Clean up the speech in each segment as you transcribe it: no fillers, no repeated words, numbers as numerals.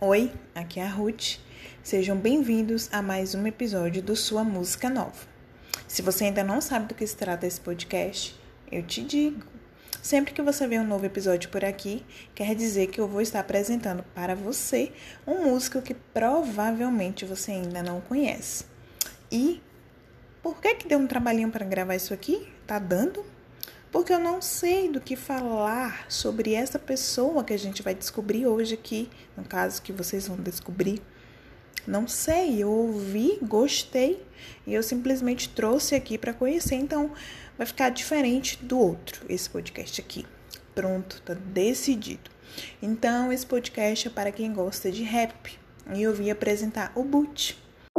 Oi, aqui é a Ruth. Sejam bem-vindos a mais um episódio do Sua Música Nova. Se você ainda não sabe do que se trata esse podcast, eu te digo. Sempre que você vê um novo episódio por aqui, quer dizer que eu vou estar apresentando para você um músico que provavelmente você ainda não conhece. E por que deu um trabalhinho para gravar isso aqui? Tá dando? Porque eu não sei do que falar sobre essa pessoa que a gente vai descobrir hoje aqui, no caso que vocês vão descobrir. Não sei, eu ouvi, gostei e eu simplesmente trouxe aqui para conhecer, então vai ficar diferente do outro, esse podcast aqui. Pronto, tá decidido. Então esse podcast é para quem gosta de rap e eu vim apresentar o Boot.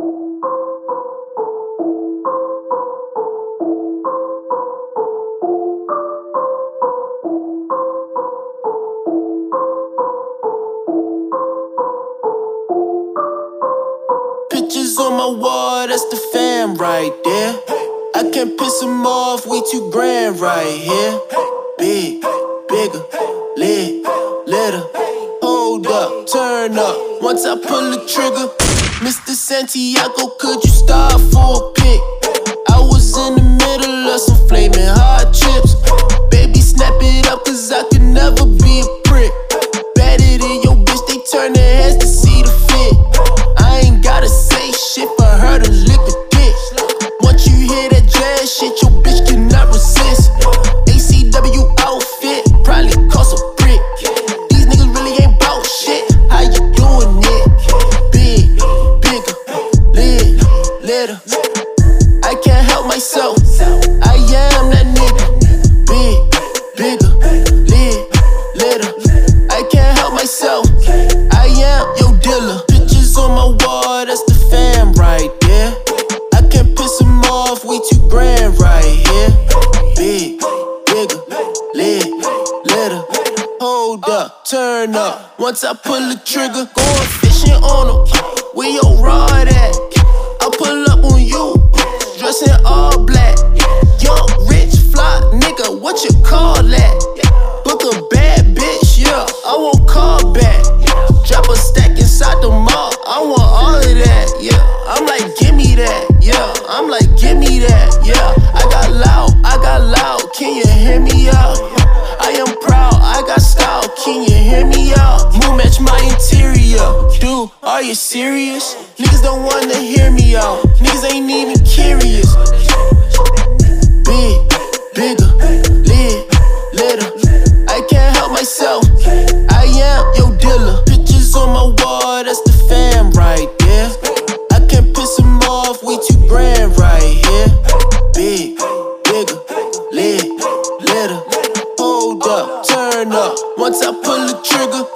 On my wall, that's the fam right there. I can't piss him off, we too grand right here. Big, bigger, lit, litter. Hold up, turn up, once I pull the trigger. Mr. Santiago, could you stop for a pic? I was in the middle of some flaming hot chips. Baby, snap it up, cause I could never be a prick. Better than your bitch, they turn their heads to see the fit. I ain't gotta say shit for her to lick a dick. Once you hear that jazz shit, your bitch cannot resist. ACW outfit, probably cost a brick. These niggas really ain't bout shit. How you doing it? Big, bigger, lit, litter. I can't help myself. I am that nigga. Big, bigger, lit, litter. I can't help myself. I am your dealer. On my wall, that's the fam right there. I can't piss him off, we too grand right here. Big, bigger, lit, litter. Hold up, turn up, once I pull the trigger. Going fishing on them, where your rod at? I pull up on you, dressed in all black. Young, rich, fly, nigga, what you call that? Book a bad bitch, yeah, I won't call back. Drop a stack inside the mall, I want all of that, yeah. I'm like, give me that, yeah. I'm like, give me that, yeah. I got loud, can you hear me out? I am proud, I got style, can you hear me out? Moon match my interior, dude, are you serious? Niggas don't wanna hear me out, niggas ain't even curious. Big, bigger, lit, litter. I can't help myself, I am your dealer. On my wall, that's the fam right there. I can't piss him off, we too grand right here. Big, bigger, lit, litter. Hold up, turn up, once I pull the trigger.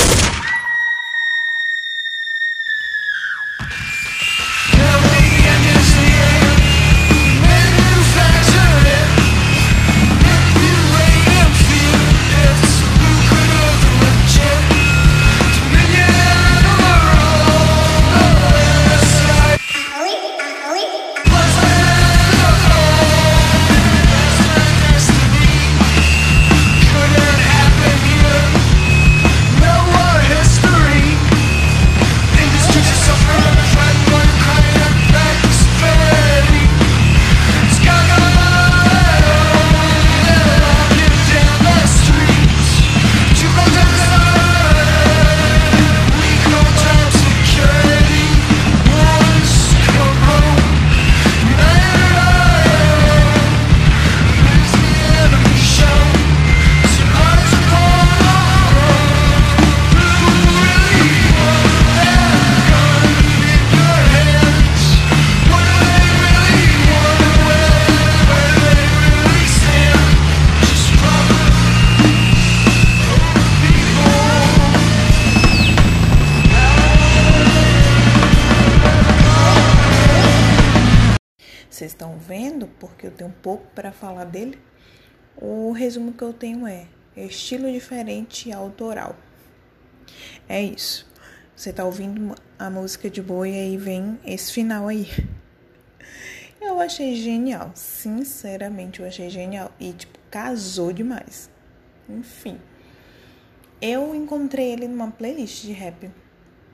Vocês estão vendo, porque eu tenho um pouco para falar dele? O resumo que eu tenho é estilo diferente e autoral. É isso. Você tá ouvindo a música de boa e aí vem esse final aí. Eu achei genial. Sinceramente, eu achei genial. E, casou demais. Enfim. Eu encontrei ele numa playlist de rap.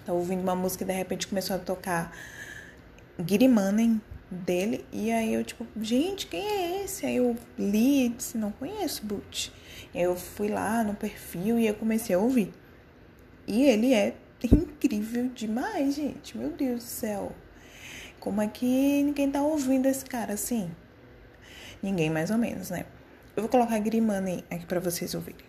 Tava ouvindo uma música e de repente começou a tocar Get Money dele. E aí eu tipo, gente, quem é esse? Aí eu li e disse, não conheço Butch. E aí eu fui lá no perfil e eu comecei a ouvir. E ele é incrível demais, gente. Meu Deus do céu. Como é que ninguém tá ouvindo esse cara assim? Ninguém, mais ou menos, né? Eu vou colocar Get Money aqui pra vocês ouvirem.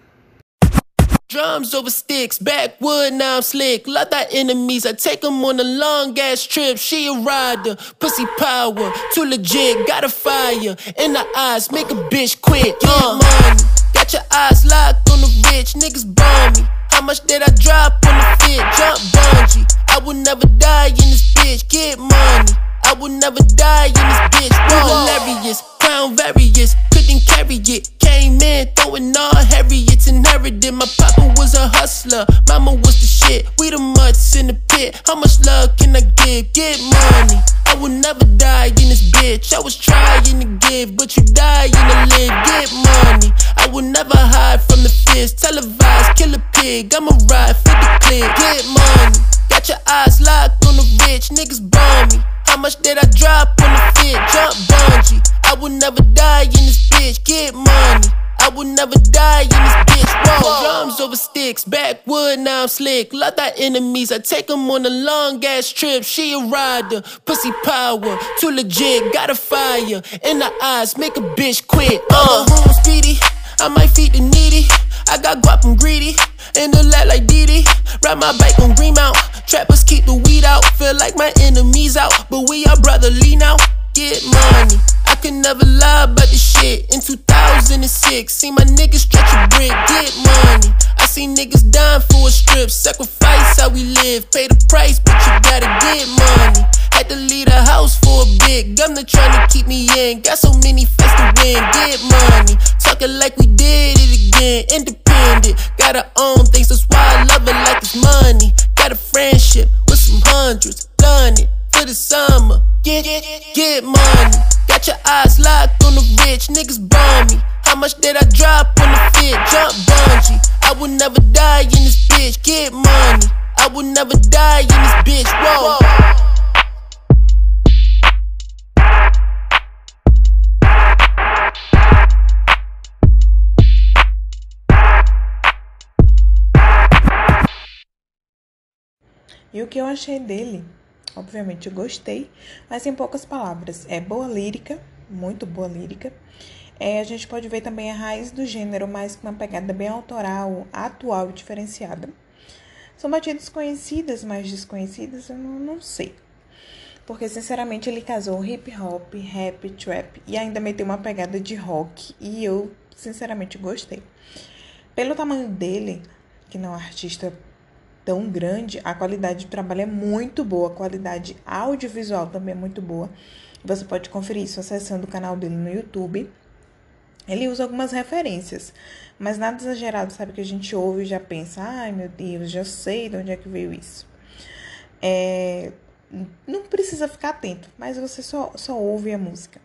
Drums over sticks, backwood, now I'm slick. Lot that enemies, I take them on a long ass trip. She a rider, pussy power, too legit, got a fire in the eyes, make a bitch quit. Get money, got your eyes locked on the rich, niggas bomb me. How much did I drop on the fit? Jump bungee, I will never die in this bitch. Get money, I will never die in this bitch. Whoa. Hilarious, crown various, couldn't carry it. Came in, throwing all heavy, it's inherited. My papa was a hustler, mama was the shit. We the mutts in the pit, how much love can I give? Get money, I will never die in this bitch. I was trying to give, but you dying to live. Get money, I will never hide from the fist. Televised, kill a pig, I'ma ride for the clip. Get money, got your eyes locked on the rich, niggas bomb me. How much did I drop on the fit? Jump bungee, I will never die in this bitch. Get money, I will never die in this bitch. Whoa. Drums over sticks, backwood, now I'm slick. Lot that enemies, I take them on a long ass trip. She a rider, pussy power, too legit, got a fire in the eyes, make a bitch quit. Home speedy, I might feed the needy. I got guap, I'm greedy, in the lap like Diddy. Ride my bike on Greenmount, trappers keep the weed out. Feel like my enemies out, but we are brotherly now. Get money, I could never lie about this shit. In 2006, see my niggas stretch a brick. Get money, I see niggas dying for a strip. Sacrifice how we live, pay the price, but you gotta get money. Had to leave the house for a bit, governor trying to keep me in. Got so many fights to win, get money. Talking like we did it again, independent. Got our own things, that's why I love it like it's money. Got a friendship with some hundreds, done it for the summer. Get money, got your eyes locked on the rich, niggas bomb me. How much did I drop on the fit? Jump bungee, I will never die in this bitch. Get money, I will never die in this bitch. Whoa. E o que eu achei dele? Obviamente eu gostei, mas em poucas palavras. É boa lírica, muito boa lírica. A gente pode ver também a raiz do gênero, mas com uma pegada bem autoral, atual e diferenciada. São batidas conhecidas, mas desconhecidas, eu não sei. Porque, sinceramente, ele casou hip hop, rap, trap e ainda meteu uma pegada de rock. E eu, sinceramente, gostei. Pelo tamanho dele, que não é um artista tão grande, a qualidade de trabalho é muito boa, a qualidade audiovisual também é muito boa. Você pode conferir isso acessando o canal dele no YouTube. Ele usa algumas referências, mas nada exagerado, sabe? Que a gente ouve e já pensa, ai meu Deus, já sei de onde é que veio isso. Não precisa ficar atento, mas você só ouve a música.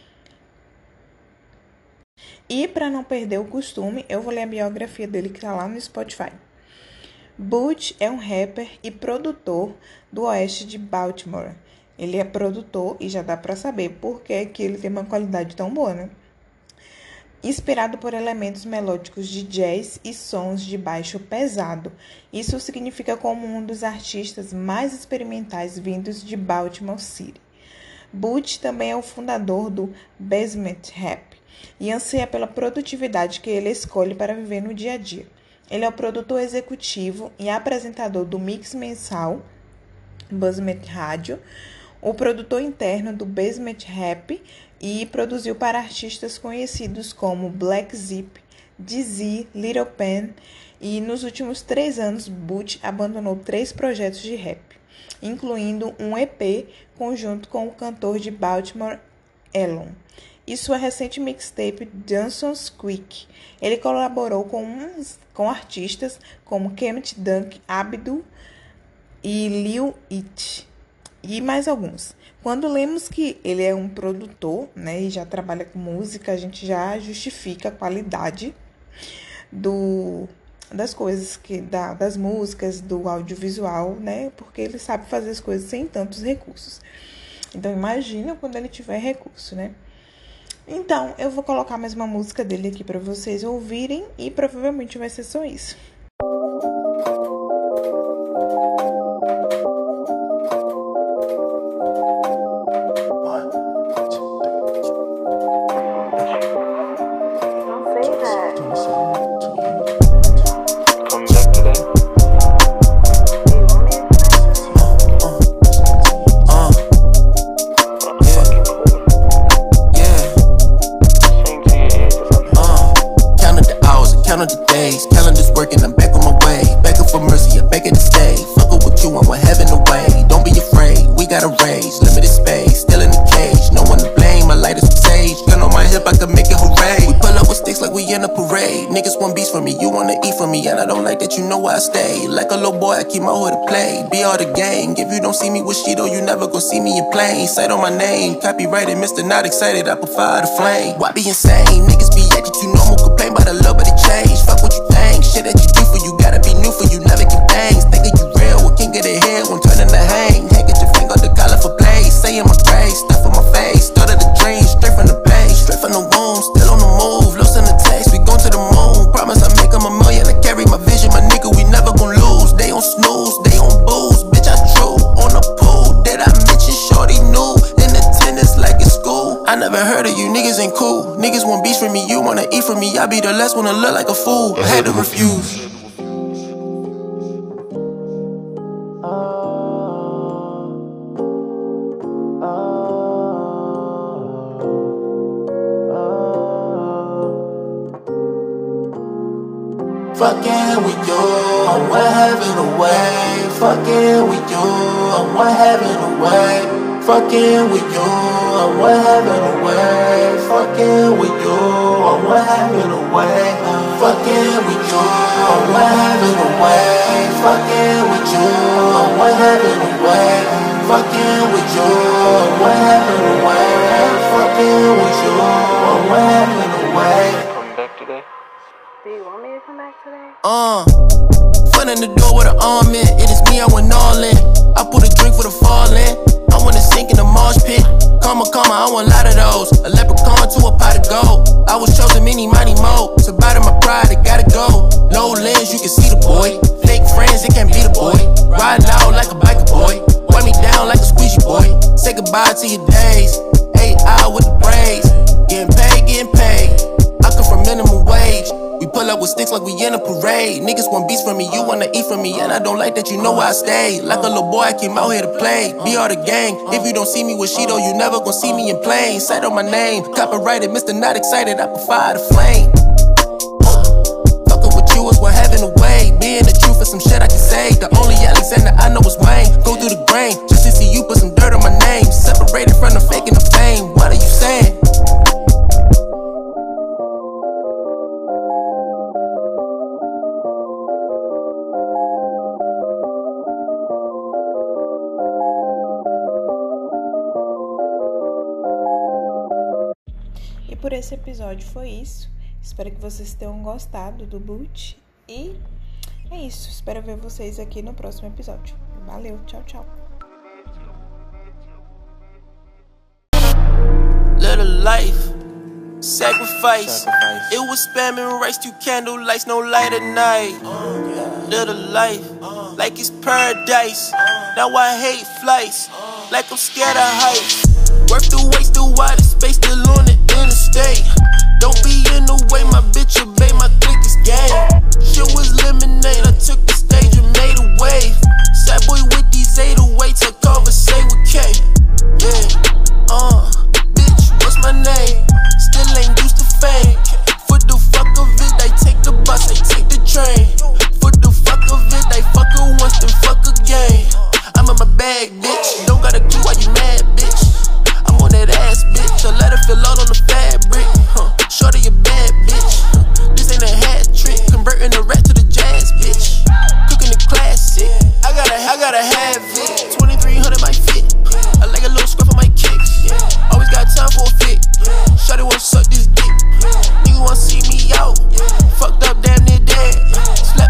E para não perder o costume, eu vou ler a biografia dele que tá lá no Spotify. Butch é um rapper e produtor do oeste de Baltimore. Ele é produtor e já dá pra saber por que ele tem uma qualidade tão boa, né? Inspirado por elementos melódicos de jazz e sons de baixo pesado. Isso significa como um dos artistas mais experimentais vindos de Baltimore City. Butch também é o fundador do Basement Rap e anseia pela produtividade que ele escolhe para viver no dia a dia. Ele é o produtor executivo e apresentador do mix mensal Basement Rádio, o produtor interno do Basement Rap e produziu para artistas conhecidos como Black Zip, DZ, Little Pen, e nos últimos 3 anos Butch abandonou 3 projetos de rap, incluindo um EP conjunto com o cantor de Baltimore, Elon, e sua recente mixtape Johnson's Quick. Ele colaborou com artistas como Kemet Dunk, Abdul e Lil It, e mais alguns. Quando lemos que ele é um produtor, né, e já trabalha com música, a gente já justifica a qualidade do das coisas, das músicas, do audiovisual, né? Porque ele sabe fazer as coisas sem tantos recursos. Então, imagina quando ele tiver recurso, né? Então, eu vou colocar mais uma música dele aqui pra vocês ouvirem e provavelmente vai ser só isso. Calendars working, I'm back on my way. Back up for mercy, I'm begging to stay. Fuck up with you, I want heaven away. Don't be afraid, we got a raise. Limited space, still in the cage. No one to blame, my light is some sage. Gun on my hip, I can make it hooray. We pull up with sticks like we in a parade. Niggas want beats from me, you wanna eat from me. And I don't like that, you know where I stay. Like a little boy, I keep my hood to play. Be all the gang, if you don't see me with Shido, you never gon' see me in plain sight on my name. Copyrighted, Mr. Not Excited, I put fire to flame. Why be insane? Niggas be acting too normal, complain about a little bit of change. Fuck what you think, shit that you do for you, gotta be new for you, never get things. Thinking you real, what king of the head, won't turn into hang. Hang at your finger, the collar for blaze. Say in my grave, stuff on my face. Started the dream, straight from the base. Straight from the womb, still on the move. Lost in the text, we gon' to the moon. Promise I make 'em $1 million, I carry my vision, my nigga, we never gon' lose. They on snooze, they on booze, bitch I true. On the pool, did I mention shorty new? In attendance like it's school. I never heard of you, niggas ain't cool. Niggas want beats from me, you wanna eat from me. I be the last one to look like a fool. I had to refuse. Fucking with you, I'm one heaven away. Fucking with you, I'm one heaven away. Fucking with you, I'm one heaven away. Fucking with you, I'm one heaven away. Fucking with you, I'm one heaven away. Fucking with you, I'm one heaven away. Fucking with you, I'm one heaven away. Fucking with you, I'm one heaven away. Come back today? Do you want me to come back today? Foot in the door with an arm in. It is me, I went all in. I put a drink for the falling. I wanna sink in the marsh pit. Karma, I want a lot of those. A leprechaun to a pot of gold. I was chosen many, mighty mo. To bottom my pride, it gotta go. Low lens, you can see the boy. Fake friends, it can't be the boy. Riding out like a biker boy. Wipe me down like a squeegee boy. Say goodbye to your days. 8 hours with the braids. Getting paid. I come from minimum wage. We pull up with sticks like we in a parade. Niggas want beats from me, you wanna eat from me. And I don't like that, you know where I stay. Like a little boy, I came out here to play. Be all the gang, if you don't see me with Shido, you never gon' see me in plain sight on my name. Copyrighted, Mr. Not Excited, I put fire to flame. Fucking with you is what heaven away. Being the truth is some shit I can say. The only Alexander I know is Wayne. Go through the grain, just to see you put some dirt on my name. Separated from the fake and the fame, what are you saying? E por esse episódio foi isso. Espero que vocês tenham gostado do boot. E é isso. Espero ver vocês aqui no próximo episódio. Valeu, tchau, tchau. Little life, sacrifice. It was spamming rice to candle lights, no light at night. Little life, like it's paradise. Now I hate flights, like I'm scared of heights. Work the waste, the wider space, still on the interstate. Don't be in the way, my bitch obey, my click is game. Shit was lemonade, I took the stage and made a wave. Sad boy with these 808s, I conversate with K. Yeah, bitch, what's my name? Still ain't used to fame. For the fuck of it, I take the bus, I take the train. For the fuck of it, I fuck her once, then fuck again. I'm in my bag, bitch, don't got a clue why you mad, bitch. I'm on that ass, bitch, I let her feel all on the fabric. Shorty a bad bitch, this ain't a hat trick. Converting the rat to the jazz, bitch. Cooking the classic, I gotta have it. 2300 my fit, I like a little scruff on my kicks. Always got time for a fit, shorty wanna suck this dick. Nigga wanna see me out, fucked up damn near dead. Slap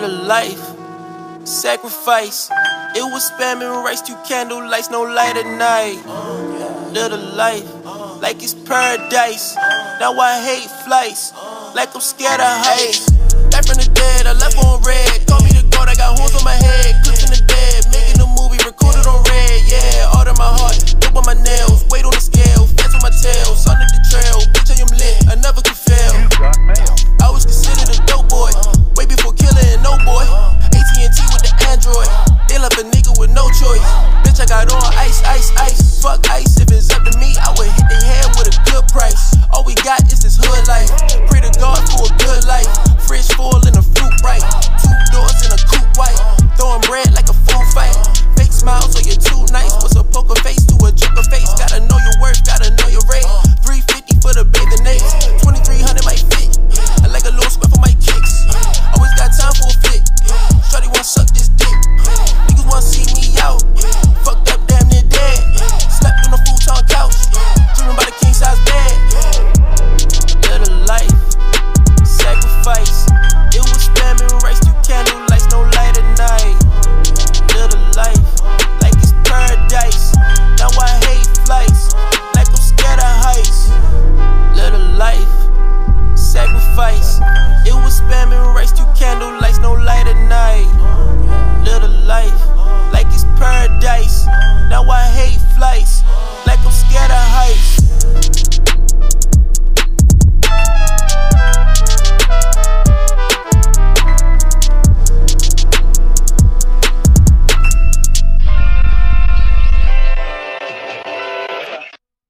Little life, sacrifice. It was spamming rice to candlelights, no light at night. Little life, like it's paradise. Now I hate flights, like I'm scared of heights. Back from the dead, I left on red. Call me the god, I got horns on my head. Clips in the bed, making a movie, recorded on red. Yeah, art in my heart, dope on my nails. Weight on the scale, fast on my tail. Sun at the trail, bitch I am lit, I never could fail. I was considered a dope boy, way before Killer and No Boy. AT&T with the Android, they left a nigga with no choice. Bitch I got on ice, ice, ice, fuck ice.